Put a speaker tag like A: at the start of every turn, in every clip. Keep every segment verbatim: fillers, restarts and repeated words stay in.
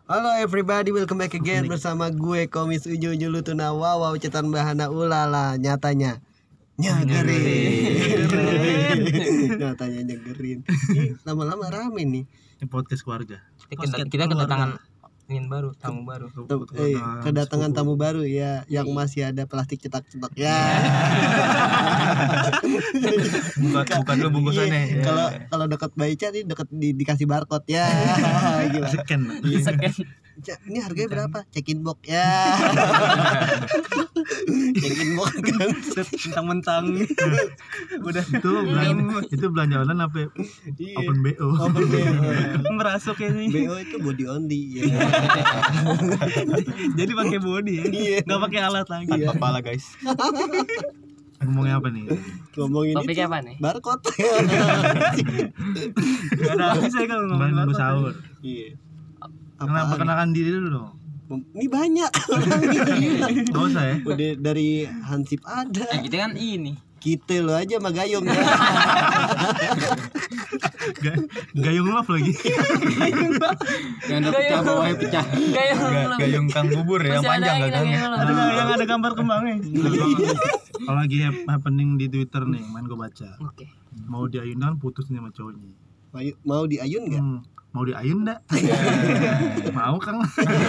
A: Halo everybody, welcome back again bersama gue Komis Uju Uju Lutuna Wawaw Cetan Bahana Ulala. Nyatanya nyegerin Nyatanya nyegerin. Ini lama-lama rame nih.
B: Ini podcast keluarga.
C: Kita, kita kedatangan ingin baru, tamu baru.
A: Eh, kedatangan tamu baru ya, yang masih ada plastik cetak-cetak ya.
B: buka buka dulu bungkusannya.
A: Kalau kalau dekat Baica nih dekat di, dikasih barcode ya. Gila.
B: Scan.
C: Scan.
A: Ini harganya berapa? Check-in box ya. Check-in box kan
D: mentang-mentang.
B: Udah itu belanja, itu belanja online apa?
A: Iya.
B: Open B O.
A: Open B O.
D: Merasuk ini.
A: B O itu body only ya.
D: Jadi pakai body ya.
A: Iya.
D: Enggak pakai alat lagi.
A: Iya.
D: Kepala guys.
B: Ngomongnya apa nih?
A: Ngomongin
C: Topiknya
A: itu,
C: apa nih?
A: barcode.
D: Enggak ada habis saya kalau ngomongin
B: Bang
D: barcode.
B: sahur.
A: Iya.
B: Kenapa kenakan diri dulu dong?
A: Ini banyak orang gila.
B: Enggak usah ya.
A: Udah dari Hansip ada.
C: Eh, kita kan ini.
A: Kita lo aja sama Gayung ya.
B: Ga- Gayung love lagi.
C: Yang udah pecah bawahnya pecah. Gayung.
D: Gayung Kang Bubur yang panjang gagangnya. Ada yang ada gambar kembangnya.
B: Kalau lagi hap- happening di Twitter nih, main gue baca.
C: Oke.
B: Mau diayunan putus nih sama cowoknya.
A: Mau, mau diayun enggak?
B: Hmm. Mau diayun enggak? Mau Kang.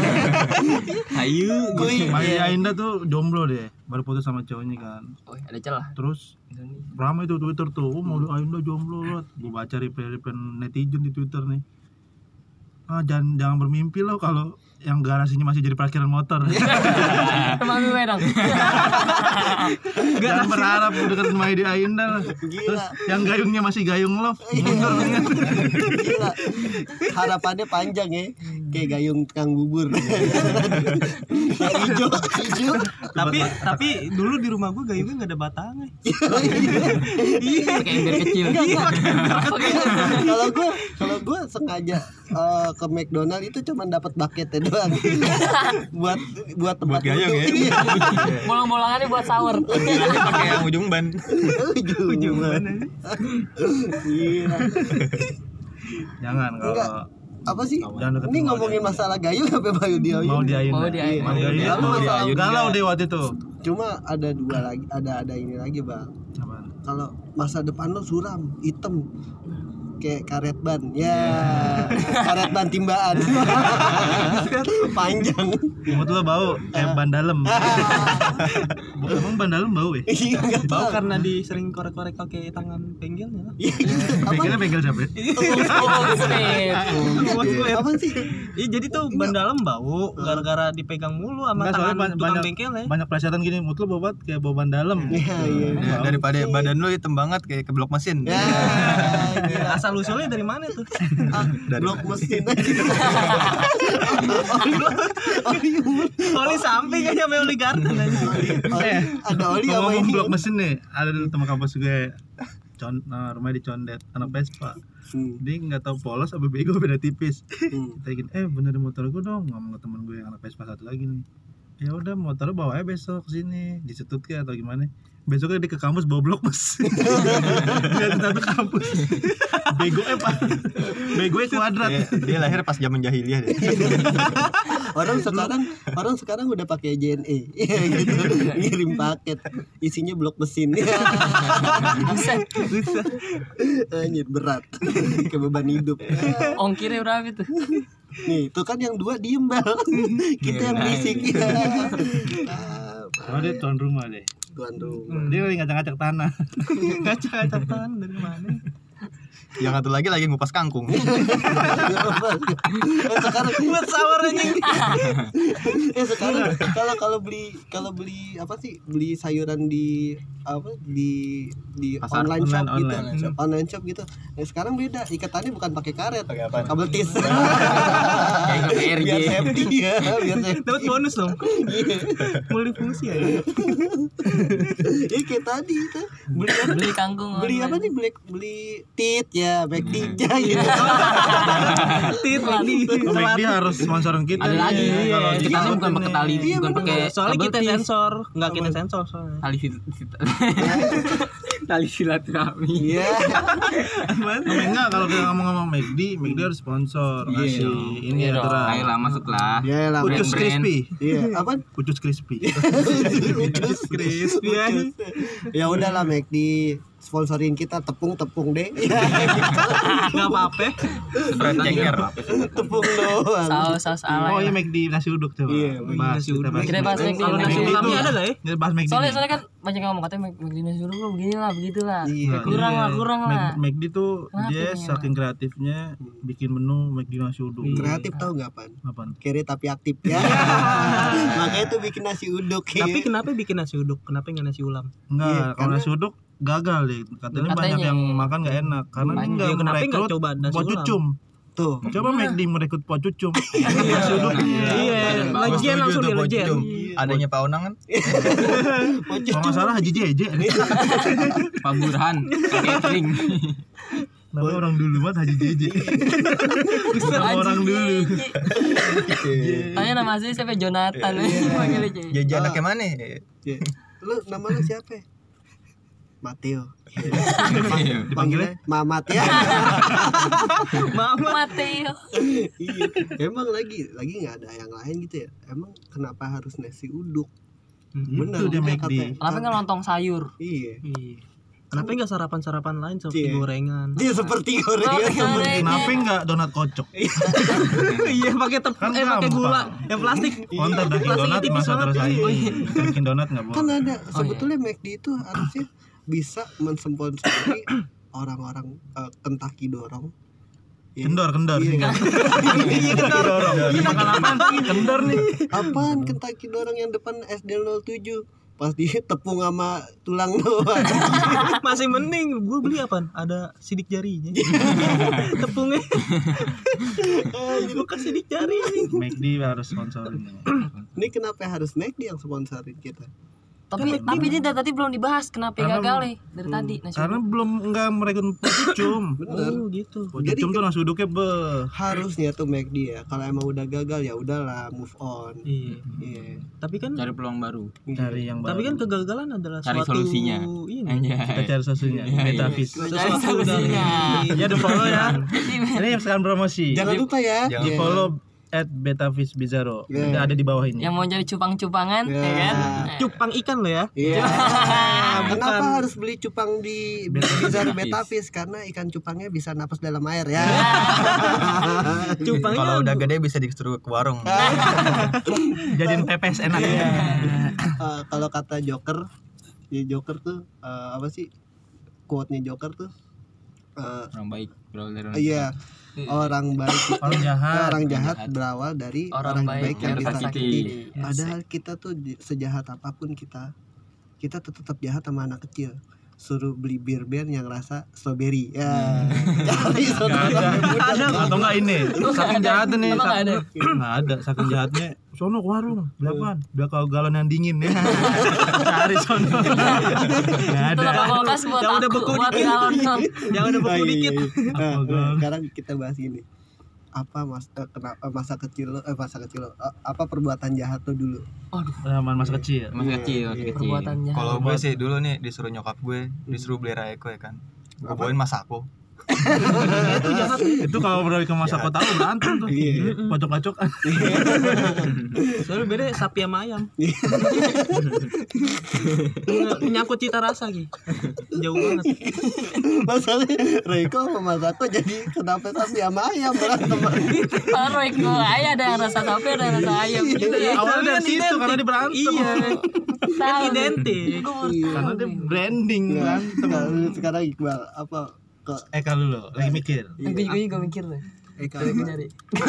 C: Ayo.
B: Mau diayun enggak tuh jomblo deh, baru putus sama cowoknya kan.
C: Oh, ada celah.
B: Terus ramai tuh Twitter tuh, oh, mau diayun enggak jomblo loh. Gue baca reply-reply netizen di Twitter nih. Ah, jangan jangan bermimpi loh kalau yang garasinya masih jadi parkiran motor.
C: Teman gue dong.
B: Jangan berharap udah ketemu di Ayunda lah. Terus yang gayungnya masih gayung love. Mundur kan.
A: Gila. Harapannya panjang ya. Kayak Gayung Kang Bubur. Yang hijau, hijau.
D: Tapi tapi dulu di rumah gua gayungnya enggak ada batangnya.
C: Iya. Kayak ember kecil.
A: Kalau gue kalau gue sengaja uh, ke McDonald itu cuma dapat bucketnya doang. buat buat tempat
D: Buat gayung ya.
A: Iya.
C: Bolong-bolongannya buat sahur.
D: Pakai yang ujung ban.
A: Ujung mana? Iya.
B: Jangan
A: Enggak.
B: kalau
A: Apa sih?
B: Jangan deket
A: Ini
B: rumah
A: ngomongin masalah gayung apa bayu dia?
B: mau diayun.
C: Mau
B: enggak?
C: diayun.
B: Mau diayun.
A: Apa
B: Mau
A: masalah
B: diayun. Galau deh waktu itu.
A: Cuma ada dua lagi, ada ada ini lagi, Bang.
B: Apaan?
A: Kalau masa depan lo suram, hitam. Kayak karet ban. Ya, karet ban timbaan. Panjang.
B: Mulut lo bau kayak ban dalam. Emang ban dalam bau ya?
A: Iya, enggak
D: Bau
A: tahu.
D: karena di sering korek-korek pakai tangan bengkelnya.
A: Iya, gitu. Apa?
B: Bengkelnya bengkel siapa?
A: Iya, apa sih?
D: Iya jadi tuh ban dalam bau gara-gara dipegang mulu sama
B: Enggak, soalnya
D: tangan
B: ban-
D: tukang
B: banyak
D: bengkel ya.
B: banyak plesetan gini, mulut lo bau banget kayak bau ban dalam.
A: Iya, iya.
E: Ya, daripada badan lu hitam banget kayak ke blok mesin.
A: Ya, gila.
D: Asal usulnya dari mana tuh?
A: Ah, blok mesin aja. Oli, oli,
D: Oli samping aja sama oli garden aja.
A: oli. Ada oli apa
B: Ngomong
A: ini?
B: blok mesin nih, ada dulu teman kampus gue. Con, nah, rumahnya di Condet, anak Vespa.
A: Hmm.
B: Dia nggak tahu polos apa bego, beda tipis.
A: Hmm.
B: Kita gini, eh benerin motor gue dong, ngomong ke temen gue yang anak Vespa satu lagi nih. Ya udah motor bawa aja besok ke sini, disetut ke atau gimana? Besoknya dia ke kampus bawa blok mesin. Dia satu kampus. Bego eh pak, bego kuadrat.
E: Dia, dia lahir pas zaman jahiliyah deh.
A: Orang sekarang orang sekarang udah pakai J N E. Iya gitu. Ngirim paket isinya blok mesin.
C: Buset.
A: Anjir berat. Kayak beban hidup.
C: Ongkirnya berapa itu?
A: Nih, tuh kan yang dua diem bal. Kita yang berisik.
B: Oh dia tuan rumah deh.
A: Tuan rumah.
B: Dia lagi ngacak-ngacak tanah.
D: Ngacak-ngacak tangan dari mana?
E: Yang satu lagi lagi ngupas kangkung.
A: Sekarang
D: Buat sahur anjing.
A: eh sekarang kalau kalau beli kalau beli apa sih beli sayuran di apa di di
E: Pasar
A: online shop
B: online,
A: gitu
B: online shop.
A: online shop gitu. Nah, sekarang beda ikatannya bukan pakai karet,
E: Pakai apaan?
A: kabel tis.
C: Kayak ke P R J.
A: Biar safety ya, biar safety.
D: Dapat bonus dong.
A: Iya.
D: Multifungsi ya.
A: Ini kayak tadi itu beli apa?
C: Beli kangkung.
A: Beli apa nih? Beli beli tit ya, back ninja gitu.
D: Tit lagi.
B: Baik dia harus sponsorin kita.
C: Ada lagi.
B: Iya, kalau
C: Kita
B: kita
C: bukan pakai tali,
A: Iya,
C: bukan
A: bener.
C: pakai
D: Soalnya
C: kabel
D: kita
C: tis.
D: sensor, enggak kita sensor soalnya.
C: Tali fit- fit- Tali silaturahmi.
A: Iya.
B: Enggak, kalau kita ngomong-ngomong McD, McD harus sponsor ngasih ini
C: Iya
B: ya
C: dong.
B: Tra.
C: Ayolah masuklah.
A: Iya lah.
B: Ucus
C: brand-brand.
B: crispy.
A: Iya, apa?
B: Ucus crispy.
A: Ucus crispy. Ya udahlah McD sponsorin kita tepung-tepung deh.
F: Enggak apa-apa.
E: Spread cenger.
A: Tepung doang.
G: Saus saus ala.
B: Oh iya McD nasi uduk coba.
A: Iya,
B: bahas,
F: nasi
B: kita
F: uduk.
B: bahas
G: Kita bahas McD.
F: Kalau nasi
G: McD.
F: ulami ada lah ya.
B: Kita bahas McD.
G: Soalnya soalnya kan banyak yang ngomong katanya McD nasi uduk lu begini lah begitulah.
A: Iya.
G: Kurang lah, kurang lah.
B: Mac- McD tuh
G: Kenapa
B: dia
G: ini,
B: saking kreatifnya bikin menu McD nasi uduk.
A: Kreatif tahu nggak pan?
B: Apaan?
A: Kere tapi aktif ya. Makanya tuh bikin nasi uduk.
F: Tapi kenapa bikin nasi uduk? Kenapa enggak nasi ulam?
B: Enggak,
A: Iya,
B: kalau
A: karena-
B: nasi uduk gagal deh. Katanya,
G: Katanya.
B: banyak yang makan nggak enak karena dia
G: Banyak.
B: nggak
F: Ya, kenapa nggak
B: merekrut
F: coba nasi
B: po
F: ulam?
B: cucum.
A: Tuh.
B: Coba McD merekrut po cucum. Nasi uduk.
F: Iya, lagian langsung di lagian.
E: Adanya Pak Onang kan?
B: Kalau nggak salah Haji Jeje.
C: Pak Burhan catering.
B: Namanya orang dulu banget Haji Jeje. Nama orang dulu.
G: Tanya nama asli siapa? Jonathan. Panggil aja.
E: Jajan anaknya mana?
A: Iya. Lu nama lu siapa? Mateo.
C: Iya.
A: Dipanggilnya Mamat ya.
G: Mateo.
A: Iya. Emang lagi lagi nggak ada yang lain gitu ya. Emang kenapa harus nasi uduk? Benar
B: Itu dia
A: juga
B: McD.
A: katanya.
G: Kenapa nggak lontong sayur?
A: Iya.
F: Iya. Kenapa enggak sarapan-sarapan lain seperti
A: Iya.
F: gorengan?
A: Dia seperti
G: Oh,
A: gorengan.
G: gorengan.
B: Kenapa nggak donat kocok?
F: Iya, pakai tep
B: Kan
F: eh pakai
B: gampang.
F: gula yang plastik.
B: Konten daging
F: Plastiknya
B: donat
F: tipis
B: masa
F: banget.
B: terus aja. Bikin donat nggak
A: Kan
B: boleh.
A: ada sebetulnya McD itu harusnya bisa mensponsori orang-orang eh, Kentucky dorong. Ya.
B: Kendor, kendor.
A: Iya.
B: Iya, kendor. Dorong. Makan apaan? Kendor nih.
A: Apaan Kentucky dorong yang depan S D nol tujuh? Pas di tepung sama tulang doang.
F: Masih mending gue beli apaan? Ada sidik jarinya. Tepungnya. Bukan sidik jari.
B: McD harus sponsorin.
A: Ini kenapa harus McD yang sponsorin kita?
G: Tapi tapi ini dari tadi belum dibahas kenapa
B: Karena-
G: gagal nih dari tadi nasi
B: Karena
G: uduk.
B: belum enggak merekrut po cucum.
A: Bener.
F: Oh, gitu.
B: Po cucum tuh nasi uduknya be.
A: Harusnya tuh McD ya. Kalau emang udah gagal ya udahlah move on.
F: Iya.
A: Iya.
F: Tapi kan
C: Cari peluang baru.
B: Cari yang baru.
F: tapi kan kegagalan adalah
C: Cari
F: suatu
C: solusinya.
F: ini.
C: Anjay.
B: kita cari solusinya.
C: Iya, iya.
B: Metafis.
G: Cari
F: Sesuatu
G: solusinya.
F: dari-
B: Ya di follow ya. Ini yang sekarang promosi.
A: Jangan lupa ya.
E: Jangan
B: Di
A: Iya.
B: follow at Betafis Bizarro.
A: Iya.
B: Udah ada di bawah ini.
G: Yang mau jadi cupang-cupangan
A: Ya.
G: ya kan?
F: Cupang ikan lo ya.
A: Iya.
F: Bukan.
A: Kenapa harus beli cupang di Bizarro Betafis? Karena ikan cupangnya bisa napas dalam air ya.
F: Cupangnya
E: Kalau udah gede bisa disuruh ke warung.
B: Jadiin pepes enak.
A: Eh, kalau kata Joker, ya Joker tuh eh, apa sih? Quote-nya Joker tuh eh,
C: Orang baik berawal dari orang
A: iya, orang baik itu-
B: Orang jahat.
A: orang jahat berawal dari orang, baik, yang
C: yang
A: disakiti.
C: tersakiti.
A: Padahal kita tuh di- sejahat apapun kita, kita tuh tetap jahat sama anak kecil. Suruh beli bir band yang rasa strawberry. Ya. Cari
B: Nggak
A: saudara.
B: ada. Atau enggak ini? Saking jahatnya nih.
G: Emang nggak ada?
B: saking- Nggak ada. Saking jahatnya. Sono ke warung. Berapaan? Biar kau galon yang dingin ya. Cari sono. Nggak
G: Itu
B: ada.
G: lah kulkas buat
F: Yang udah
G: aku,
F: beku
G: buat
F: dikit.
G: galon dong.
F: yang ada
A: Ah,
F: beku
A: iya,
F: dikit.
A: iya, iya. Nah,
B: Apa, Bang?
A: sekarang kita bahas ini. Apa mas eh, kenapa masa kecil lo eh masa kecil lo eh, apa perbuatan jahat lo dulu?
B: Zaman masa kecil.
C: Masih kecil, masih
A: Iya.
C: kecil.
G: Perbuatan jahat.
E: Kalau gue sih dulu nih disuruh nyokap gue, disuruh beli Raeko ya kan. Gue bawain Masako.
F: Itu jahat.
B: Itu kalau beralih ke masa kota lu berantem tuh.
A: Iya.
B: Pocok-pocokan.
F: Soalnya beda sapi sama ayam. Menyangkut cita rasa gitu. Jauh banget.
A: Masalahnya Reiko sama Masako jadi kenapa sapi sama ayam berantem?
G: Kalau itu ayah ada yang rasa sapi ada yang rasa ayam gitu ya.
B: Awalnya
F: Kan
B: dari situ
F: identik.
B: karena dia berantem.
F: Iya. Kan
G: Tahu.
F: identik.
G: Gua baru
A: Iya.
G: tahu
B: Karena dia
G: nih.
B: branding
A: Nggak,
B: berantem.
A: sekarang- sekarang Iqbal apa ke
B: Eh kalau dulu lagi mikir.
G: Gue juga juga mikir deh.
A: Eka
G: Gue nyari.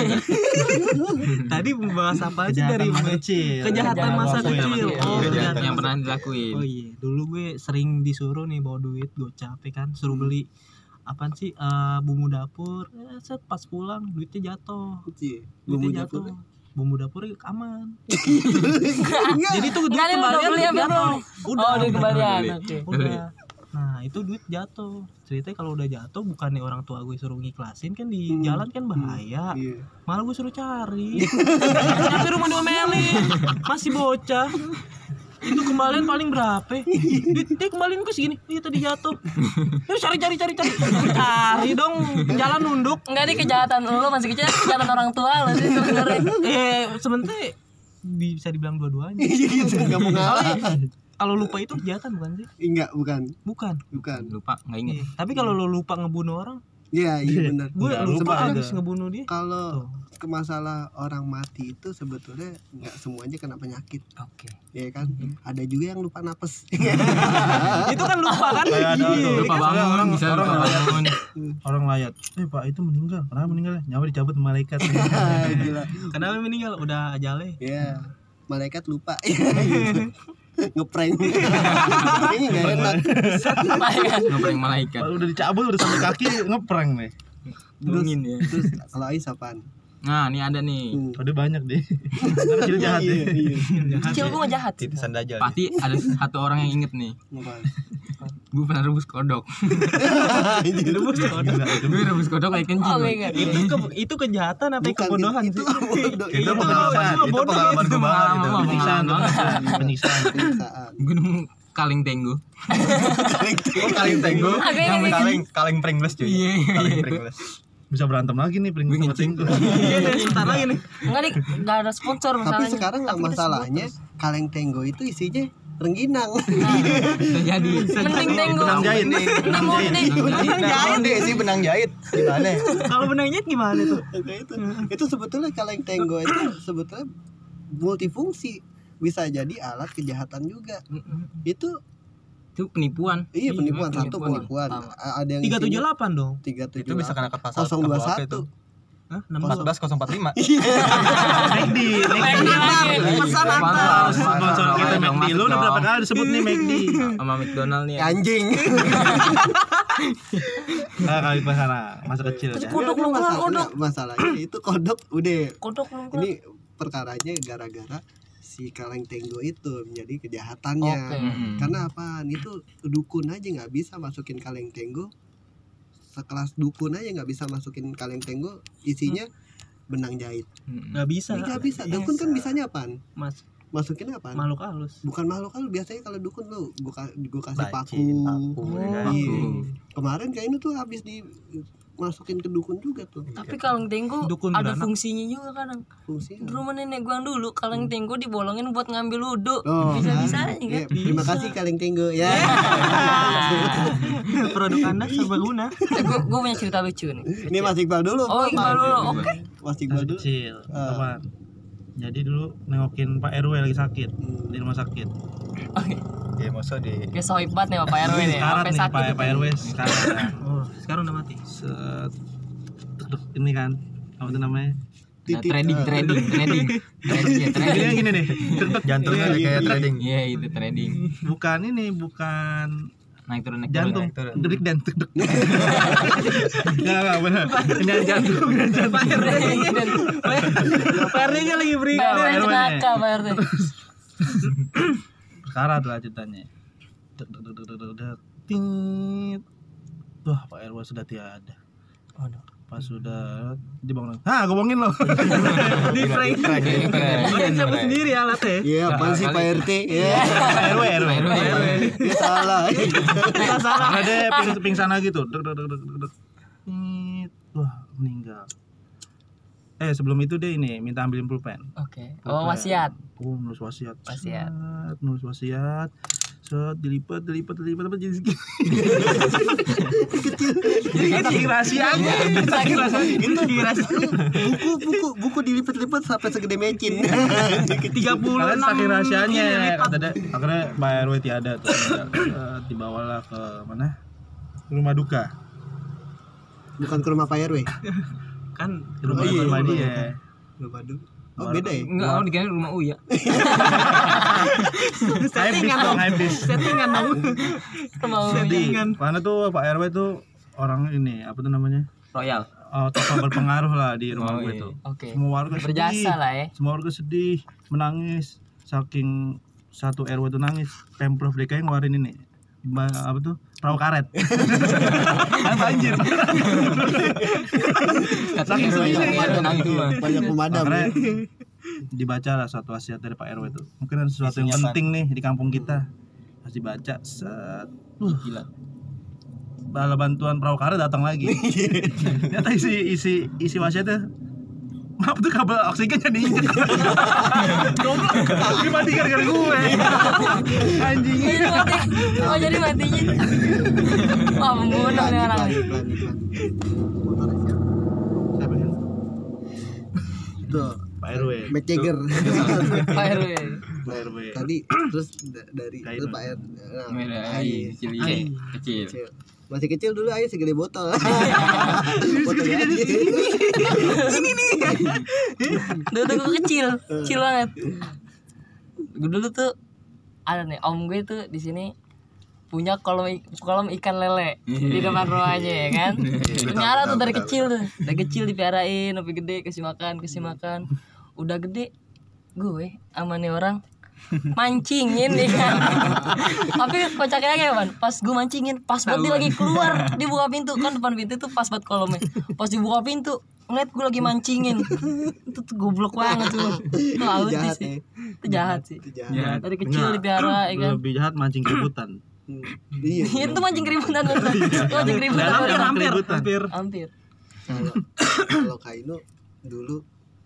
F: Tadi membahas apa aja dari
B: Kejahatan masa kecil.
F: kejahatan masa
B: Waktu ya,
F: kecil.
B: masa
F: Oh,
B: kecil.
C: Yang
F: ternyata.
C: yang pernah dilakuin.
F: Oh iya, dulu gue sering disuruh nih bawa duit gocap ya kan, suruh beli apaan sih eh, bumbu dapur. Eh, set pas pulang duitnya jatuh.
A: Iya, bumbu
F: Duitnya
A: dapur.
F: jatuh. Bumbu dapurnya aman.
A: Enggak.
F: Jadi tuh duit
G: Enggak, ini udah
F: kembalian
G: beli apa
F: jatuh.
G: belum?
F: Udah.
G: Oh, udah kembalian.
C: Beli.
G: Oke.
F: Udah. Nah itu duit jatuh. Ceritanya kalau udah jatuh bukannya orang tua gue suruh ngiklasin kan di
A: Hmm.
F: jalan kan bahaya.
A: Iya.
F: Malah gue suruh cari. Tapi rumah diomelin. Masih bocah. Itu kembalian paling berapa? Dia, dia kembalian ke segini. Dia tadi jatuh. Terus cari cari cari cari. Cari dong, jalan nunduk.
G: Enggak di kejahatan lu masih kecil, kejahatan orang tua lu sih sebenarnya.
F: Eh, sebenarnya bisa dibilang dua-duanya.
A: Gitu enggak mau ngalah.
F: Kalau lupa itu kejahatan bukan sih?
A: Enggak, bukan.
F: Bukan.
A: Bukan.
C: Lupa enggak inget.
F: Iya. Tapi kalau lo lupa ngebunuh orang,
A: Iya, iya benar.
F: gue
B: Enggak,
F: lupa
B: lupa
F: habis
B: ada.
F: ngebunuh dia.
A: Kalau ke masalah orang mati itu sebetulnya nggak semuanya kena penyakit,
C: Oke.
A: ya kan? Ada juga yang lupa napes.
F: Itu kan lupa kan?
B: Kayak ada tuh,
C: Lupa
B: orang
C: bangun,
B: orang
C: bisa
B: orang
C: lupa
B: layat,
C: bangun.
B: orang layat. Eh Pak itu meninggal. Kenapa meninggal? Nyawa dicabut malaikat.
A: Gila.
F: Kenapa meninggal? Udah ajale.
A: Ya, malaikat lupa. Gitu. Ngeprank. Ini nggak enak.
C: Ngeprank malaikat.
B: Kalau udah dicabut udah sampai kaki ngeprank nih.
C: Dungin ya.
A: Terus kalau Ais apaan?
C: Nah, ini ada nih.
A: Hmm.
B: Udah banyak deh. Anak kecil jahat
A: Iya,
B: deh.
A: iya.
G: Kecil gua nggak jahat.
E: Titisan dajal.
C: Pasti ada satu orang yang inget nih.
A: Apaan?
C: Gue pernah rebus kodok.
A: Rebus
B: Gila, itu
C: Gue rebus kodok kayak kencing.
G: Oh
C: gue.
G: my god.
F: Itu ke, itu kejahatan apa
A: Bukan,
F: kebodohan
A: itu
F: sih?
A: bodoh.
B: Itu
A: Iya,
B: pengalaman.
E: Itu pengalaman gue banget itu.
C: Pengalaman.
B: Penyiksaan, penyiksaan, penyiksaan.
A: penyiksaan.
C: Gue nemu kaleng tenggo.
E: Oh, kaleng tenggo.
G: Agak
E: Yang
G: ini-
E: kaleng kaleng Pringles cuy.
C: Iya, iya.
E: Kaleng Pringles.
B: Bisa berantem lagi nih
C: Gue
B: Pringles sama
C: ngeceng.
B: Tinggo.
F: Iya, dan sebentar lagi nih.
G: Enggak nih, enggak ada sponsor
A: Tapi
G: masalahnya.
A: sekarang nggak
G: kita
A: masalahnya
G: sebut
A: kaleng tenggo itu isinya rengginang.
C: Bisa jadi.
G: Mending tenggo.
B: Benang jahit.
G: Mending
B: Benang jahit.
G: mending.
F: Benang
E: Nah,
F: jahit.
E: deh sih benang jahit. Gimana?
F: Kalau benang jahit gimana tuh?
A: Nah, itu itu sebetulnya kaleng tenggo itu sebetulnya multifungsi, bisa jadi alat kejahatan juga. Itu
C: Itu penipuan.
A: iya penipuan,
C: Iya,
A: satu
C: penipuan.
A: penipuan. A- Ada yang
F: tiga tujuh delapan dong.
A: tiga tujuh
E: Itu bisa kena ke pasal
A: nol dua satu.
F: Hah? enam
E: empat
F: belas.
E: belas nol empat lima.
B: McD, McD.
G: lagi.
F: Pesan
C: Sponsor,
B: Sponsor kita
C: dong,
B: McD.
C: masuk
B: Lu udah berapa
C: dong.
B: kali disebut nih McD?
C: Sama McDonald nih.
A: Anjing.
B: Ah, kali pas sana masa kecil
G: Terus
B: ya.
G: kodok lu keluar
A: Masalah-
G: kodok.
A: enggak, masalahnya itu kodok udah.
G: Kodok lu keluar.
A: Ini perkaranya gara-gara si kaleng tenggo itu menjadi kejahatannya.
G: Oke.
C: Mm-mm.
A: Karena apaan? Itu dukun aja nggak bisa masukin kaleng tenggo. Sekelas dukun aja nggak bisa masukin kaleng tenggo isinya benang jahit.
C: Mm-mm.
F: Nggak bisa.
A: Nggak bisa. Dukun kan bisanya apaan?
F: Mas,
A: Masukin apaan?
F: makhluk halus.
A: Bukan makhluk halus, biasanya kalau dukun lu gua, ka- gua kasih paku.
E: Bacin, paku, ya kan?
A: Iya.
C: Paku.
A: Kemarin kayaknya tuh habis di masukin ke dukun juga tuh.
G: Tapi kaleng tenggo
F: Dukun
G: ada
F: beranak.
G: fungsinya juga kadang.
A: Fungsinya.
G: Di rumah nenek gua yang dulu kaleng tenggo dibolongin buat ngambil wudhu.
A: Oh,
G: Bisa-bisa aja
A: iya,
G: kan.
A: terima kasih kaleng tenggo ya.
F: Produk Anda serbaguna.
G: Eh, gua, gua punya cerita lucu nih.
A: Ini Mas Iqbal dulu.
G: Oh,
A: Pak.
G: Iqbal dulu. Oke.
A: Mas Iqbal
B: Masih
A: dulu.
B: kecil.
A: Ah.
B: Apaan? Jadi dulu nengokin Pak R W lagi sakit di rumah sakit.
G: Oke.
E: Ya masa di
G: Kayak sohib banget nih sama Pak R W nih.
B: Sekarat
G: Sampai
B: nih
G: sakit.
B: Pak
G: itu.
B: Pak R W sekarang.
F: Oh, sekarang udah mati.
B: Set tuk, tuk, ini kan apa itu namanya?
C: Nah,
A: Titik,
C: trading,
A: ah.
C: trading, trading, trading, ya,
B: Ini
C: trading.
B: gini nih. Tuk, tuk.
E: jantungnya
B: Iya,
E: kayak
B: iya.
E: trading.
C: Iya, itu trading.
B: Bukan ini, bukan
C: Naik turun naik turun.
B: jantung.
E: naik turun.
B: Dedik dan tuk, tuk. Enggak, enggak benar. Ini jantung, bukan jantung.
F: Pak R D. Pak R D-nya lagi beri.
G: Enggak, Pak
B: R W
G: R W
B: nih.
G: nakal Pak R W.
B: Sekarat lah ceritanya. Dek, dek, dek, dek, dek, dek. Tit. Wah, Pak R W sudah tiada. Pas sudah dibangun. Hah, gue bohongin loh.
F: Di frame.
C: Keren, keren.
F: Oh, dia cabut sendiri alatnya.
A: Iya, apaan sih Pak R T? Iya.
B: R W, R W.
C: R W, R W.
A: Dia salah.
F: Kita salah.
B: Karena dia ping, pingsan lagi tuh. Dek, dek, dek, dek, dek, dek. Tit. Wah, meninggal. Eh, sebelum itu dia ini minta ambilin pulpen.
G: Oke. Oh, wasiat.
B: Oh, nulis wasiat.
G: Wasiat.
B: Set, nulis wasiat. Set, dilipat, dilipat, dilipat apa jadi segini. Jadi saking rahasianya. Saking rahasianya.
A: Itu buku buku buku dilipat-lipat sampai segede mecin.
F: tiga puluh
B: Kalian
F: enam
B: saking rahasianya
F: ini
B: ya,
F: lipat.
B: kata dia. Akhirnya Pak R W tiada tuh. Eh, dibawalah ke mana? Rumah duka.
A: Bukan ke rumah Pak R W.
F: Kan
B: Ke rumah,
A: Oh, iya,
B: rumah
A: rumah
B: dia.
A: Rumah duka. Oh, beda ya?
C: Enggak, oh dikira rumah Uya.
B: Habis dong, habis.
F: settingan dong.
G: Mau
B: Jadi, karena tuh Pak R W tuh orang ini, apa tuh namanya?
C: Royal.
B: Oh, tokoh berpengaruh lah di rumah
C: Oh,
B: gue
C: iya.
B: tuh.
G: Oke.
B: Semua warga sedih.
G: Berjasa lah ya.
B: Semua warga sedih, menangis. Saking satu R W tuh nangis, Pemprov D K I ngeluarin ini. Ba- apa tuh? Perahu karet. Kan banjir.
C: Katanya
B: Saking
C: Royal
B: sedihnya.
C: warga nangis semua.
A: Banyak pemadam.
B: Akhirnya dibaca lah suatu wasiat dari Pak R W itu. Mungkin ada sesuatu yang
E: Isinya
B: penting nih di kampung kita. Harus dibaca. Set. Uh,
C: Gila.
B: bala bantuan perahu karet datang lagi. Ternyata isi isi isi wasiatnya. Maaf tuh kabel oksigen jadi injek. Goblok. Dimati gara-gara gue. Anjing.
G: Jadi mati. Oh jadi matinya. Wah membunuh nih orang.
A: Iklan, iklan. Motornya siapa?
B: Siapa kan?
A: Tuh,
B: Pak R W.
A: Mick Jagger.
G: Pak R W.
B: Pak R W.
A: Tadi terus da- dari
B: Kain.
A: itu Pak R. Nah,
C: Merah
A: Ai.
C: kecil
F: Ai.
C: kecil.
A: Kecil. Masih kecil dulu aja segede botol. Botol aja.
G: Dulu tuh gue kecil, kecil banget. Gue dulu tuh ada nih om gue tuh di sini punya kolam i- kolam ikan lele di depan rumahnya ya kan. Nyara tuh dari kecil tuh, dari kecil dipiarain, sampai gede kasih makan, kasih makan. Udah gede gue sama nih orang mancingin nih kan. Tapi kocaknya kayak ban, pas gue mancingin, pas buat dia lagi keluar, dia buka pintu kan, depan pintu tuh pas buat kolamnya. Pas dibuka pintu, ngeliat gue lagi mancingin. Itu tuh goblok banget tuh. Itu autis
A: Jahat
G: sih.
A: ya.
G: Itu jahat sih.
A: Itu jahat.
G: Dari kecil
B: Enggak.
G: dipiara ya kan.
B: Lebih jahat mancing keributan.
A: Hmm. Iya.
G: Itu mancing keributan bener. Itu mancing keributan
B: Dalam
G: bener.
B: hampir, hampir.
G: Hampir.
A: Kalau kalau Kaino dulu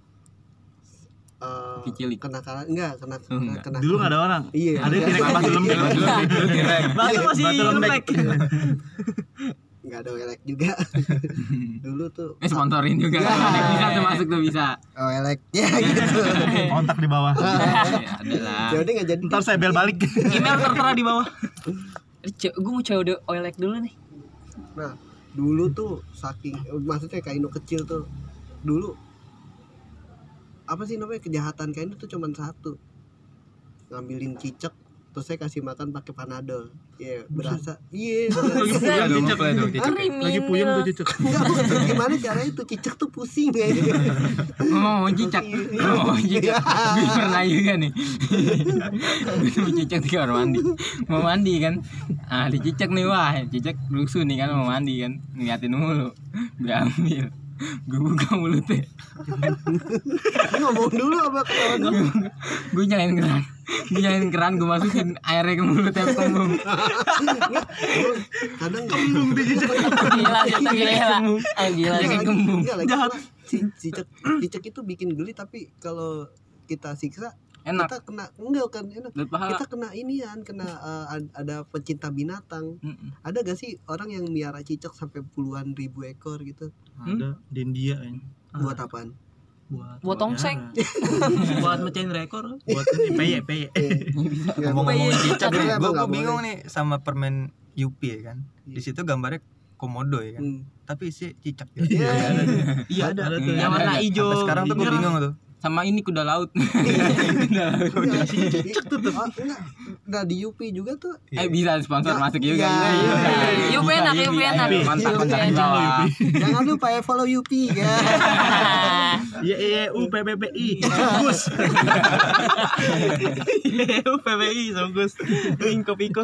A: eh
C: Kicilik.
A: kenakalan enggak kena
C: Oh, enggak.
A: kena
B: Dulu nggak ada orang.
A: Iya.
B: Ada yang tirek batu lembek.
F: Batu masih
B: Batu lembek.
F: lembek.
A: Enggak ada elek juga. Dulu tuh
C: Eh sponsorin juga. Bisa tuh masuk tuh bisa.
A: oh elek ya gitu.
B: Kontak di bawah.
C: Ya adalah.
A: Jadi enggak jadi.
B: Ntar saya bel balik.
F: Email tertera di bawah.
G: Gue mau coba udah oilek dulu nih.
A: Nah, dulu tuh saking maksudnya Kaino kecil tuh. Dulu apa sih namanya kejahatan Kaino tuh cuman satu. Ngambilin cicak terus saya kasih makan pakai panadol. Iya, berasa. Iya.
E: Iya dong, cicak lah itu cicak.
B: Lagi puyeng tuh cicak.
A: Enggak, maksudnya gimana caranya tuh cicak tuh pusing ya.
C: Ngomong cicak. Ngomong cicak. Gue pernah juga nih. Gue nemu cicak di kamar mandi. Mau mandi kan. Ah dicicak nih wah. Cicak rusuh nih kan mau mandi kan. Ngeliatin mulu. Gue ambil. Gue buka mulutnya.
A: Ngomong dulu apa ketawa dulu.
C: Gue nyalain keran. Gue nyalain keran. Gue masukin airnya ke mulutnya kembung.
A: Kadang kembung di cicak.
G: Gila, kita gila. Ah gila.
C: Dia kayak kembung.
A: Jahat. Cicak cicak itu bikin geli tapi kalau kita siksa
C: Enak.
A: kita kena enggak kan enak.
C: Dari pahala.
A: Kita kena inian, kena uh, ad- ada pecinta binatang.
C: Mm-mm.
A: Ada gak sih orang yang miara cicak sampai puluhan ribu ekor gitu?
B: Ada di India kan.
A: Buat apaan?
F: Buat
G: Buat tongseng.
F: buat mecahin rekor.
B: Buat ini P Y P Y.
A: Nggak,
E: Ngomong-ngomong
G: Iya,
E: cicak
A: iya,
E: nih,
A: emang
E: gue
A: nggak
E: bingung
A: boleh.
E: nih sama permen Yupi ya kan. Di situ gambarnya komodo ya kan.
A: Hmm.
E: Tapi isi cicak ya.
A: Iya.
F: Iya
B: Ada ada tuh.
F: Yang warna hijau.
E: Sampai sekarang tuh gue
F: merah.
E: bingung tuh.
C: Sama ini kuda laut.
A: Cicak tuh tuh. Enggak. Nah di U P juga tuh.
C: Eh bisa sponsor
A: Ya,
C: masuk juga.
A: ya,
C: Bisa,
A: iya,
C: bisa.
A: iya.
G: Yup enak, yup enak.
C: Kontak kontak di
G: Yup
C: bawah.
G: enak.
A: Jangan lupa ya follow U P ya.
B: Y E U P P P I. Gus.
F: P P I Songgus. Piko Piko.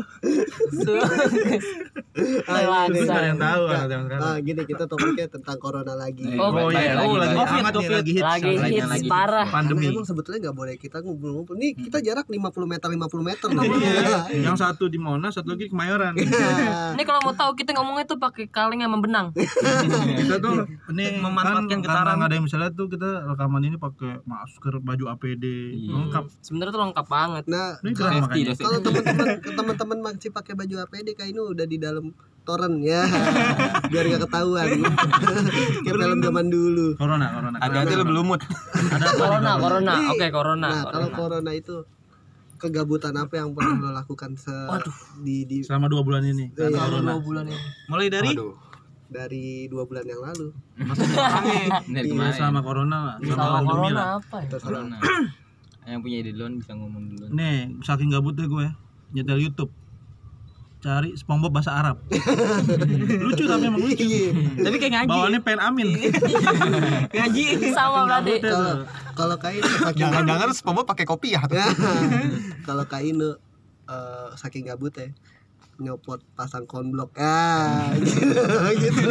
A: Ah,
B: Gus
A: gini,
B: ada yang tahu
A: Nggak,
B: ada yang sekarang.
A: ah, gini kita topiknya tentang corona lagi.
C: Eh,
G: Oh,
B: Oh
C: baik
B: iya,
C: lagi,
B: oh lagi
C: baik
B: hangat nih,
F: Covid,
B: lagi hits.
G: Lagi
C: Lagi-
G: hits
C: lagi
G: parah.
A: Karena
B: Pandemi.
A: emang sebetulnya nggak boleh kita ngumpul-ngumpul. Nih kita jarak lima puluh meter lima puluh meter loh.
B: Iya. Yang satu di Monas, satu lagi di Kemayoran.
A: Iya.
G: Ini kalau mau tahu kita ngomongnya tuh pakai kaleng sama benang.
B: Kita tuh ini
F: Memanfaatkan
B: kan
F: getaran.
B: karena nggak ada yang misalnya tuh kita rekaman ini pakai masker, baju A P D,
C: Iya.
B: lengkap.
G: Sebenarnya tuh lengkap banget.
A: Nah,
B: Ini
A: kalau-
B: keren
C: Safety,
B: makanya.
C: safety.
A: kalau teman-teman teman-teman masih pakai baju A P D kayak ini udah di dalam toren ya. Biar gak ketahuan. Kayak film zaman dulu.
B: Corona, corona.
E: Hati-hati lu belumut.
G: Corona, corona.
A: Nih,
G: Oke, corona.
A: Nah, kalau
G: corona.
A: corona itu kegabutan apa yang pernah lo lakukan se di di
B: Selama dua bulan ini.
A: Iya,
B: Karena corona.
G: dua bulan ini.
F: Mulai dari
E: Aduh.
A: dari dua bulan yang lalu?
C: Dari
B: Iya,
C: kemarin.
B: selama corona lah,
G: Sama
B: selama pandemi
G: corona
B: lah.
G: apa ya?
A: Terserah.
C: Corona. Yang punya ide duluan bisa ngomong duluan.
B: Nih, saking gabutnya gue nyetel YouTube. Cari SpongeBob bahasa Arab. Lucu tapi emang lucu.
A: Iya.
F: tapi kayak ngaji.
B: Bawaannya pengen amin.
F: Ngaji.
G: Sama berarti.
A: Kalau kalau kayak ini saking
E: Jangan-jangan SpongeBob pakai kopi ya.
A: kalau kayak ini eh, saking gabut ya. nyopot pasang konblok ah gitu, gitu.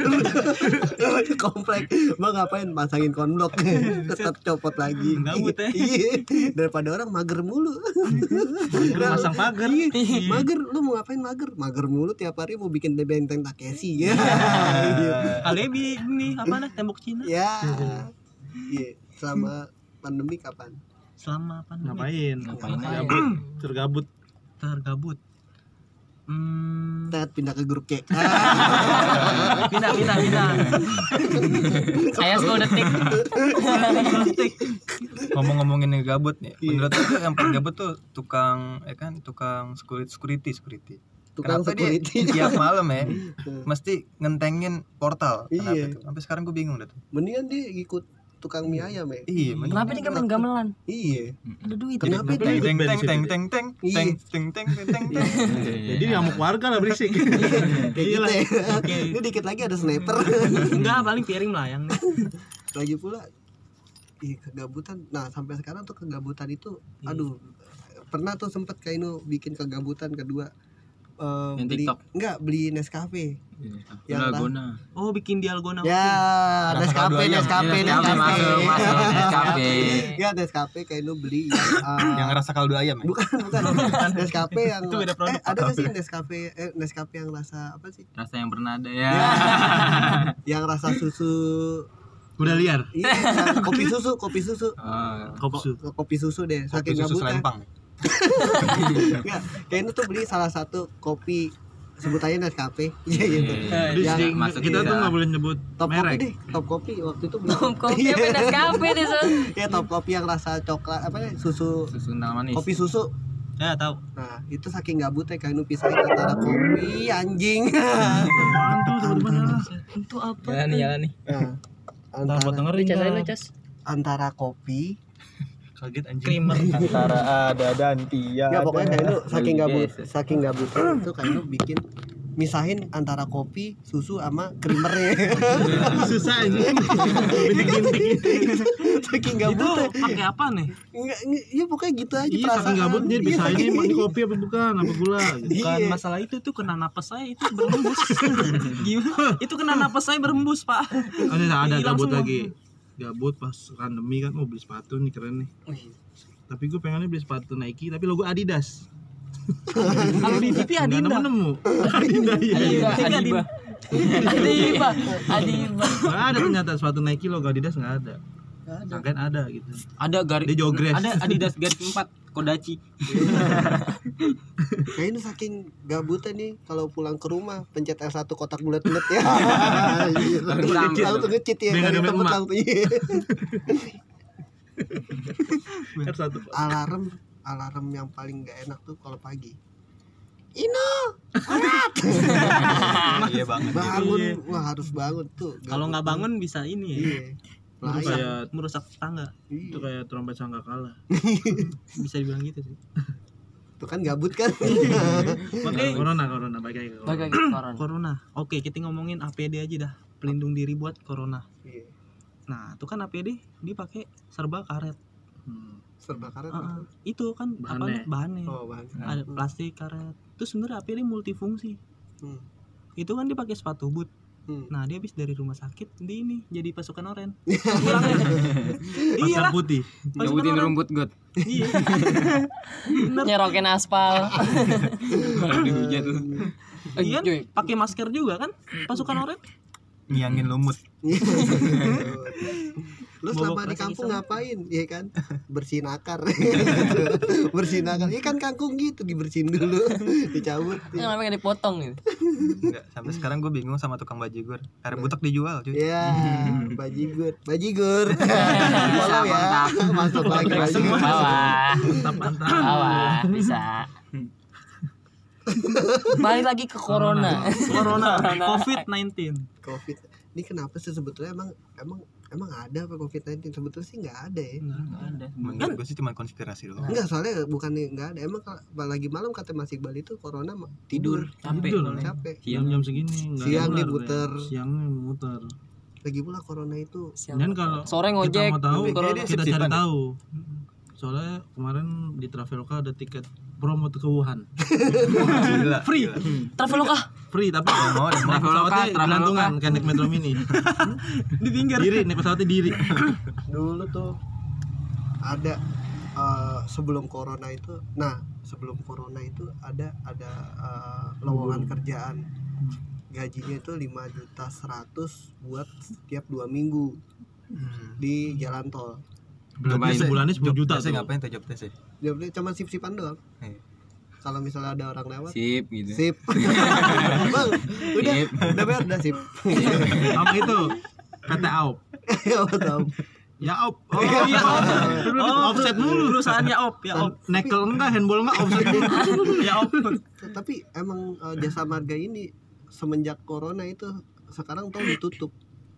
A: Komplek bang ngapain pasangin konblok tetap copot lagi
F: Gabut ya.
A: Iya, daripada orang mager mulu.
F: Masang pagar.
A: Mager lu mau ngapain mager mager mulu tiap hari mau bikin benteng Takeshi ya
F: Kali ini apa nih tembok Cina?
A: ya iya selama pandemi kapan
F: Selama apa?
B: Ngapain?
C: Ngapain aja?
B: Gabut, tergabut.
F: Tergabut. Hmm.
A: Tet pindah ke grup C
F: Pindah pindah pindah.
G: Saya sepuluh detik.
E: Ngomong-ngomongin yang gabut nih.
A: Iya.
E: Menurut aku yang paling gabut tuh tukang ya kan tukang security security security.
A: tukang
E: Kenapa
A: security
E: dia tiap malam ya mesti ngentengin portal. Kenapa
A: Iya.
E: itu? Sampai sekarang gue bingung dah tuh.
A: mendingan dia ikut tukang mie ayam ya
E: Iya, mending-
G: Kenapa dia main gamelan?
A: iya
G: Ada duit.
A: kenapa
B: Kenapa
A: itu
B: dia-
E: teng teng teng teng teng
A: Iya.
E: teng teng teng teng teng teng.
B: Jadi ngamuk warga lah berisik.
A: kayak gitu ya
F: Oke.
A: ini dikit lagi ada sniper
F: Enggak, paling piring melayang nih.
A: lagi pula ih kegabutan nah sampai sekarang tuh kegabutan itu aduh pernah tuh sempet Kainu bikin kegabutan kedua eh,
C: Yang
A: beli
C: TikTok?
A: enggak beli Nescafe Yang
C: Yang
A: lah.
C: guna.
F: Oh, bikin dialgona.
A: ya
E: Rasa
A: Nescafe
E: kaldu ayam.
A: Nescafe
C: Nescafe,
A: Nescafe
C: masuk, masuk, Nescafe.
A: ya Nescafe Kainu beli eh,
E: Yang rasa kaldu ayam ya.
A: bukan bukan Nescafe yang
F: Itu beda produk.
A: eh, ada nggak sih Nescafe eh, Nescafe yang rasa apa sih
C: Rasa yang pernah ada ya.
A: yang rasa susu
B: Udah liar.
A: iya yang kopi susu kopi susu
C: Oh,
B: Kopsu.
A: Ko- kopi susu deh
E: Kopi
A: saking
E: susu
A: gabutnya
E: selempang.
A: Enggak, kayaknya tuh beli salah satu kopi sebut aja Nescafe iya gitu
B: Jadi
A: yang
B: sering-
C: masuk
B: kita
C: kita.
B: tuh nggak boleh nyebut
A: top kopi
B: merek.
A: deh top kopi waktu itu beli
G: Tom kopi apa Nescafe deh son.
A: ya top kopi yang rasa coklat apa ya susu
C: susu kental manis.
A: kopi susu
F: Ya, tahu.
A: nah itu saking gabutnya Kainu pisahin antara kopi anjing
B: Apaan tuh sebenarnya?
G: Itu apa?
C: Jalan nih, jalan nih.
A: nah,
F: Ntar buat
A: antara
F: dengerin
G: Cas aja
F: dah.
G: lu, Cas.
A: antara kopi
E: Kaget anjing.
F: Creamer.
E: Antara ada dan tiada.
A: ya pokoknya Kainu saking
C: Beli
A: gabut
C: biasa.
A: saking gabutnya itu Kainu bikin misahin antara kopi susu sama creamernya
B: Susah aja. Bintik-bintik.
A: saking
F: Itu
A: gabutnya
F: pakai apa nih?
A: enggak enggak, ya pokoknya gitu aja
B: Iya,
A: perasaan.
B: saking gabut dia
A: Iya,
B: bisa ini
A: saking-
B: ini kopi apa bukan, apa gula gitu.
F: Bukan
A: Iya.
F: masalah itu tuh kena napas saya itu berembus. Gimana? Itu kena napas saya berembus, Pak.
B: Ada ada
F: Hilang
B: gabut
F: semua.
B: lagi. Gabut pas pandemi kan mau beli sepatu nih keren nih. Tapi gue pengennya beli sepatu Nike tapi logo Adidas.
F: Kalau di T V
B: Nggak
F: Adinda.
B: nemu-nemu.
G: Adiba, Adiba. Adiba, Adiba.
B: Nggak ada ternyata sepatu Nike logo Adidas nggak ada. Sangkain ada gitu.
C: Ada garis.
B: Dia jogres.
C: Ada Adidas garis empat Kodachi.
A: Kayaknya saking gabutnya nih kalau pulang ke rumah pencet L satu kotak bulat-bulat ya. Iya.
C: Langsung
A: Langsung ngecit ya.
B: Dia nggak
A: dari
B: ada
A: tempat
B: emak.
A: langsung. Iya.
B: R satu.
A: Alarm alarm yang paling gak enak tuh kalau pagi.
E: Iya banget.
A: Bangun,
F: Iya.
A: wah harus bangun tuh.
F: Kalau nggak bangun bisa ini ya.
A: Iya.
B: Itu
A: Layak.
B: kayak
F: Merusak tangga.
A: Iya.
B: itu kayak trompet sangkakala.
F: Bisa dibilang gitu sih.
A: Tuh kan gabut kan.
F: Oke.
B: Corona corona balik lagi ke
G: Balik
B: corona.
G: lagi ke koran.
F: Corona. Oke, kita ngomongin A P D aja dah. Pelindung diri buat corona.
A: Iya.
F: Nah, itu kan A P D dipakai serba karet.
B: Hmm.
A: Serba karet.
F: Heeh. Itu kan apa
B: Bahannya.
F: nih bahannya.
A: Oh, bahan.
F: Ada plastik karet. Terus sebenarnya A P D multifungsi.
A: Hmm.
F: Itu kan dipakai sepatu boot.
A: Hmm.
F: Nah, dia habis dari rumah sakit di ini jadi pasukan oren. Pulangnya. Iya
B: Pasar
F: lah,
B: putih.
F: pasukan
C: Nyebutin
F: oren.
C: rumput got.
F: Iya. Bener.
G: Nyerokin aspal.
C: Malah dihujat lu.
F: Iya,
G: Cuy.
F: pakai masker juga kan pasukan oren.
E: Ngiangin lumut.
A: Lu
F: Bawa
A: selama di
F: plastik
A: kampung
F: hitam.
A: ngapain? Iya kan? Bersihin akar. Bersihin akar. Iya kan kangkung gitu dibersihin dulu, dicabut.
G: Kenapa nggak dipotong gitu?
E: Enggak, sampai sekarang gue bingung sama tukang bajigur. Air butek dijual, cuy.
A: Ya, bajigur, bajigur.
C: Bisa,
A: Follow ya.
C: mantap.
A: Masuk lagi
C: Masuk
A: bajigur.
C: bawah.
B: Mantap mantap.
G: Bawah, bisa. Balik lagi ke corona.
F: Corona, covid sembilan belas.
A: Covid. Ini kenapa sih sebetulnya emang emang emang ada apa covid sembilan belas? Sebetulnya sih nggak ada ya.
C: Nggak ada.
E: Menurut gue sih cuma konspirasi doang.
A: Enggak, soalnya bukan nggak ada. Emang kalau lagi malam kata Mas Iqbal itu corona mah tidur,
C: Capek.
B: Tidur.
A: capek.
B: Jam jam segini nggak
A: Siang
B: nular,
A: diputer.
B: ya. Siangnya muter.
A: Lagi pula corona itu
B: Dan kalau
G: Sore
B: kita
G: ngojek.
B: mau tahu,
A: Lebih
G: corona.
E: dia
B: kita cari
E: sip-sipan ya?
B: tahu. Soalnya kemarin di Traveloka ada tiket promo tuh ke Wuhan.
E: Gila.
B: Free.
G: Traveloka.
B: Free tapi
E: Mau deh, mau.
B: pesawatnya
C: Traveloka.
B: gelantungan kayak naik Metro Mini.
F: Ditinggal.
B: Diri, naik pesawatnya diri.
A: Dulu tuh ada eh, sebelum corona itu, nah sebelum corona itu ada ada eh, lowongan kerjaan, gajinya itu lima juta seratus buat setiap dua minggu di jalan tol.
B: Berarti sebulannya sepuluh juta
E: sih.
B: tuh.
E: Ngapain tuh job test sih?
A: Jadi cuma sip-sipan doang.
E: Iya.
A: Kalau misalnya ada orang lewat,
C: Sip gitu.
A: sip. Bang, udah,
C: Sip.
A: udah bayar, udah sip.
B: Sama itu P T A O P.
A: Ya tahu.
B: Ya op. Oh iya.
F: Oh,
B: Offset mulu.
F: perusahaannya op ya op.
B: Nekel enggak, handball enggak, offset mulu.
F: Ya op.
A: Tapi emang eh, jasa marga ini semenjak corona itu sekarang tol ditutup.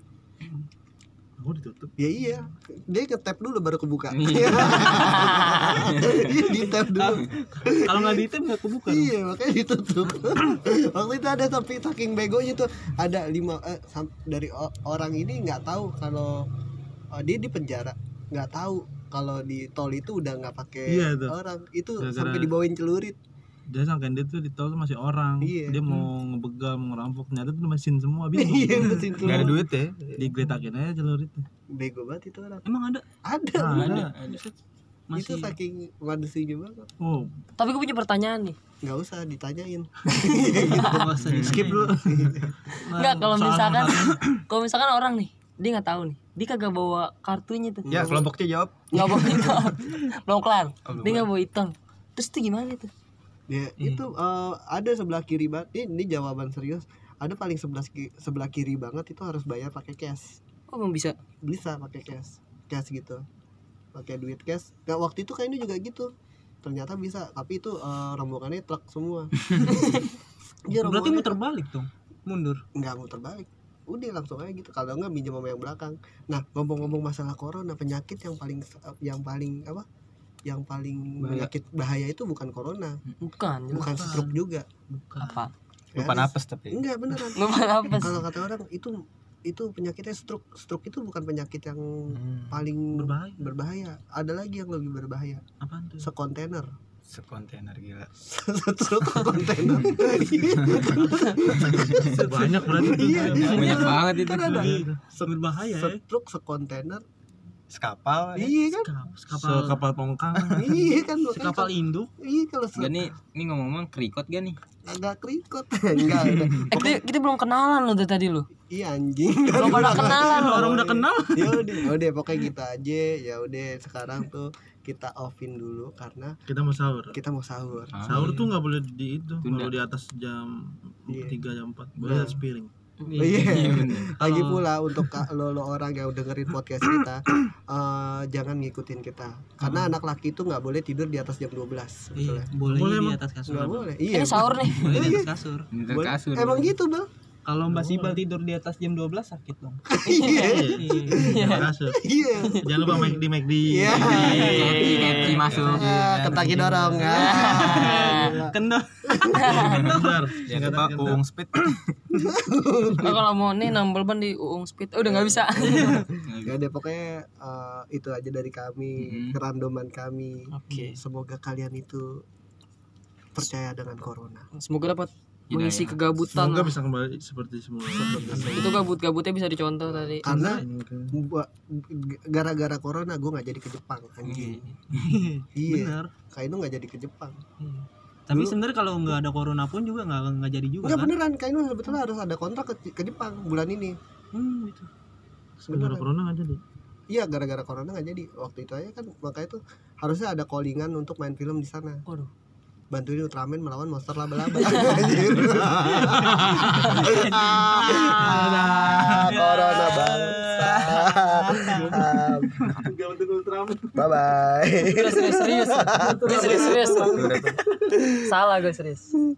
B: Oh ditutup.
A: Ya iya, dia nge-tap dulu baru kebuka.
C: Iya.
A: Iya, di-tap dulu.
F: Kalau nggak di tap nggak kebuka. dong.
A: Iya, makanya ditutup. Waktu itu ada tapi saking begonya tuh ada lima eh, sam- dari o- orang ini nggak tahu kalau oh, dia di penjara, nggak tahu kalau di tol itu udah nggak pakai
B: Iya, tuh.
A: orang. Itu
B: Gara-gara-
A: sampai dibawain celurit.
B: Dia sangkain dia tuh di tol tuh masih orang.
A: Iya.
B: Dia mau ngebegal, mau ngerampok, ternyata tuh mesin semua bingung.
A: Iya, mesin
E: Gak ada duit ya?
B: Digeletakin aja celuritnya.
A: Bego banget itu orang.
F: Emang ada?
A: Ada.
B: Nah,
C: Ada.
A: Itu
F: Masih.
A: saking manusianya banget.
B: Oh,
G: Tapi gue punya pertanyaan nih.
A: Nggak usah ditanyain.
F: Nggak usah di
B: skip dulu.
G: Enggak, kalau
B: Soal
G: misalkan
B: masalahnya.
G: kalau misalkan orang nih, dia nggak tahu nih. Dia kagak bawa kartunya tuh.
E: Ya kelompoknya jawab.
G: Nggak bawa hitam. Belum kelar.
E: Oh, belum
G: Dia nggak bawa hitam. Terus itu gimana tuh?
A: Ya, itu eh, ada sebelah kiri banget. Ini, ini jawaban serius. Ada paling sebelah ki- sebelah kiri banget itu harus bayar pakai cash.
G: Oh, emang bisa.
A: Bisa pakai cash. Cash gitu. Pakai duit cash. Nah, waktu itu kayaknya juga gitu. Ternyata bisa, tapi itu eh, rombongannya truk semua. Iya,
F: Berarti
A: rombongannya
F: muter balik dong. Mundur.
A: nggak muter balik. Udah langsung aja gitu. Kalau nggak minjem sama yang belakang. Nah, ngomong-ngomong masalah corona, penyakit yang paling yang paling apa? Yang paling penyakit bahaya itu bukan corona,
G: Bukan. jelas.
A: bukan stroke juga.
G: Apa?
E: Lupa
A: Ya,
E: napas tapi.
A: enggak beneran.
G: Lupa apa sih?
A: Kalau kata orang itu itu penyakitnya stroke. Stroke itu bukan penyakit yang
E: Hmm.
A: paling
F: Berbahaya.
A: berbahaya. Ada lagi yang lebih berbahaya.
F: Apaan tuh?
A: Sekontainer.
E: Sekontainer gila.
A: Stroke kontainer.
B: banyak berarti tuh.
A: Iya,
C: Banyak banget itu.
A: kan ada.
F: Berbahaya ya.
A: Stroke sekontainer.
E: Sekapal. ya.
A: Iya kan?
F: Kapal
B: Sekapal pongkang.
A: Iya kan. makanya
F: kapal
A: kalau-
F: induk.
A: Iya kalau se-
C: Enggak nih, ini ngomong-ngomong kerikot gak nih?
A: agak kerikot. Enggak, udah.
G: Eh, kita, kita belum kenalan loh dari tadi lo.
A: Iya anjing.
G: Belum pada kenalan loh.
F: Orang udah kenal.
A: Ya udah, ya udah pokoknya kita aja. Ya udah sekarang tuh kita offin dulu karena
B: Kita mau sahur.
A: kita mau sahur.
C: Ah,
B: Sahur tuh nggak boleh di itu,
C: Tunda.
B: kalau di atas jam
A: Iya.
B: tiga jam empat boleh
A: Nah.
B: atas piring.
A: Oh, iya. Lagi
F: Kalau-
A: pula untuk ka- lo, lo orang yang dengerin podcast kita eh, jangan ngikutin kita. Karena anak laki itu nggak boleh tidur di atas jam dua belas.
F: Iya,
A: Sebetulnya.
F: boleh
B: Boleh
F: di
B: emang?
F: atas kasur.
A: Nggak boleh.
G: Ini
A: Iya.
G: sahur nih.
F: Boleh di atas kasur.
C: Minta
A: Boleh.
C: kasur.
A: Emang gitu, Bang?
F: Kalau Mbak Sibal tidur di atas jam dua belas sakit dong.
A: Iya.
F: Iya.
B: Jangan kasur.
A: Iya.
B: Jangan lupa make di make di.
A: Iya.
C: Kepsi, kepsi masuk.
A: Ah, Kentaki dorong. Ah.
F: Kendor.
B: Bentar.
E: Jangan lupa uung speed.
G: Nah, kalau mau nih nambel ban di Uung Speed. Eh, udah nggak bisa.
A: Ya udah pokoknya eh, itu aja dari kami,
C: Mm-mm.
A: kerandoman kami.
G: Oke.
A: Semoga kalian itu percaya dengan corona.
G: Semoga dapat
C: Hidayah.
G: mengisi kegabutan.
B: Semoga bisa kembali seperti semula.
G: Itu gabut-gabutnya bisa dicontoh tadi.
A: Karena gua gara-gara corona gue nggak jadi ke Jepang anjing. Iya.
F: Bener.
A: Kainu nggak jadi ke Jepang.
F: Iya. Tapi sebenarnya kalau nggak ada corona pun juga nggak nggak jadi juga
A: Enggak
F: kan?
A: beneran, Kainu sebetulnya harus ada kontrak ke, ke Jepang bulan ini.
F: Hmm, gitu.
B: Sebenarnya corona nggak jadi.
A: Iya, gara-gara corona nggak jadi. Waktu itu aja kan makanya tuh harusnya ada callingan untuk main film di sana.
G: Waduh.
A: Bantuin Ultraman melawan monster laba-laba. Anjir. Ah, corona bangsa. Bye bye.
G: Serius serius serius. Gue serius serius. Salah gue serius.